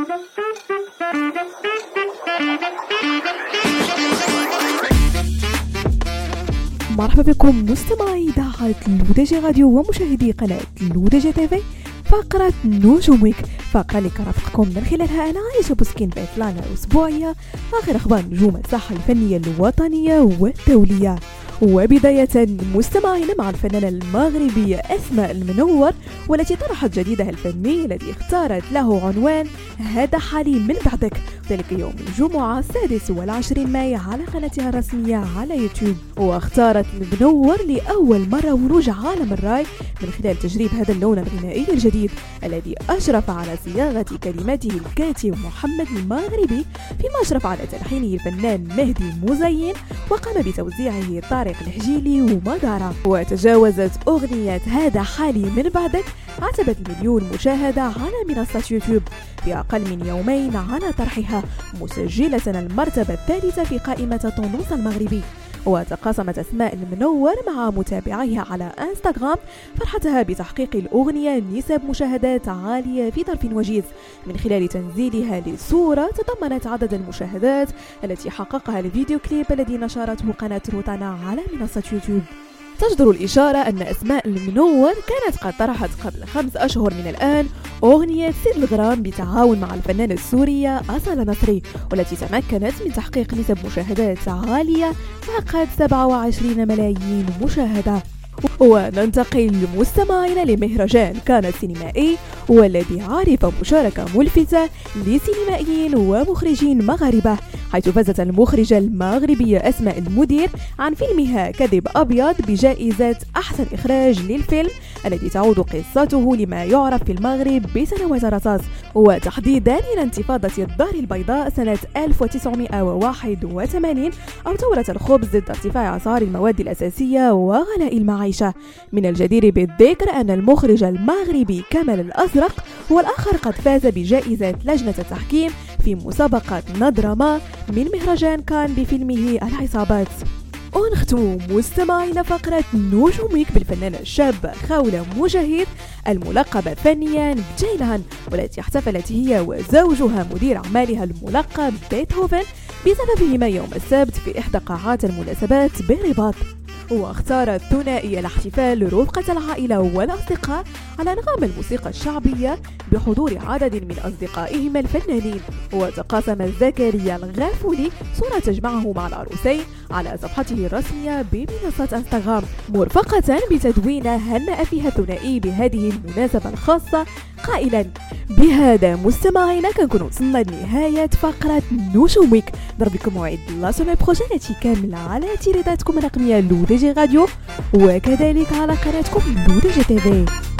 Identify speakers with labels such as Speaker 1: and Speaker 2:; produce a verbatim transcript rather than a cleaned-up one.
Speaker 1: مرحبا بكم مستمعي إذاعة لودجي راديو ومشاهدي قناة لودجي تيفي. فقرة نجوم ويك، فقرة اللي كرافقكم من خلالها أنا عايشة بوسكين بإطلالة أسبوعية آخر أخبار نجوم الساحة الفنية الوطنية والدولية. وبداية مستمعين مع الفنانة المغربية أسماء المنور، والتي طرحت جديدها الفني الذي اختارت له عنوان هذا حالي من بعدك، ذلك يوم الجمعة السادس والعشرين ماي على قناتها الرسمية على يوتيوب. واختارت المنور لأول مرة ورود عالم الراي من خلال تجريب هذا اللون الغنائي الجديد الذي أشرف على صياغة كلماته الكاتب محمد المغربي، فيما أشرف على تلحينه الفنان مهدي مزين، وقام بتوزيعه طارق الحجيلي ومدارة. وتجاوزت أغنية هذا حالي من بعدك عتبت المليون مشاهدة على منصة يوتيوب في أقل من يومين على طرحها، مسجلة المرتبة الثالثة في قائمة طونوس المغربي. وتقاسمت أسماء المنور مع متابعيها على انستغرام فرحتها بتحقيق الأغنية نسب مشاهدات عالية في ظرف وجيز من خلال تنزيلها لصورة تضمنت عدد المشاهدات التي حققها الفيديو كليب الذي نشرته قناة روتانا على منصة يوتيوب. تجدر الإشارة أن أسماء المنور كانت قد طرحت قبل خمس أشهر من الآن أغنية سيد الغرام بالتعاون مع الفنانة السورية أصالة نصري، والتي تمكنت من تحقيق نسب مشاهدات عالية فقط سبعة وعشرين ملايين مشاهدة. وننتقل مستمعين لمهرجان كان السينمائي، والذي عرف مشاركة ملفتة لسينمائيين ومخرجين مغاربة، حيث فازت المخرجة المغربية أسماء المدير عن فيلمها كذب أبيض بجائزة أحسن إخراج للفيلم الذي تعود قصته لما يعرف في المغرب بسنوات الرصاص، وتحديدا إلى انتفاضة الدار البيضاء سنة ألف وتسعمائة وواحد وثمانين أو ثورة الخبز ضد ارتفاع أسعار المواد الأساسية وغلاء المعيشة. من الجدير بالذكر أن المخرج المغربي كمال الأزرق هو الآخر قد فاز بجائزة لجنة التحكيم في مسابقة نضرما من مهرجان كان بفيلمه العصابات. ونختم مستمعين فقرة نجوم ويك بالفنانة الشابة خولة مجاهد الملقبة فنيا بجيلان، والتي احتفلت هي وزوجها مدير أعمالها الملقب بيتهوفن بزفافهما يوم السبت في إحدى قاعات المناسبات بالرباط. واختارت ثنائي الاحتفال رفقة العائلة والأصدقاء على نغم الموسيقى الشعبية بحضور عدد من أصدقائهما الفنانين. وتقاسم زكريا الغافولي صورة تجمعه مع العروسين على صفحته الرسمية بمنصة انستغرام، مرفقة بتدوين هنأ فيها الثنائي بهذه المناسبة الخاصة قائلا: بهذا مستمعينا كنكون وصلنا لنهاية فقرة نجوم ويك. نضرب لكم موعد لا سومي بروجين التي كاملة على تيريداتكم الرقمية لودجي راديو، وكذلك على قناتكم لودجي تيفي.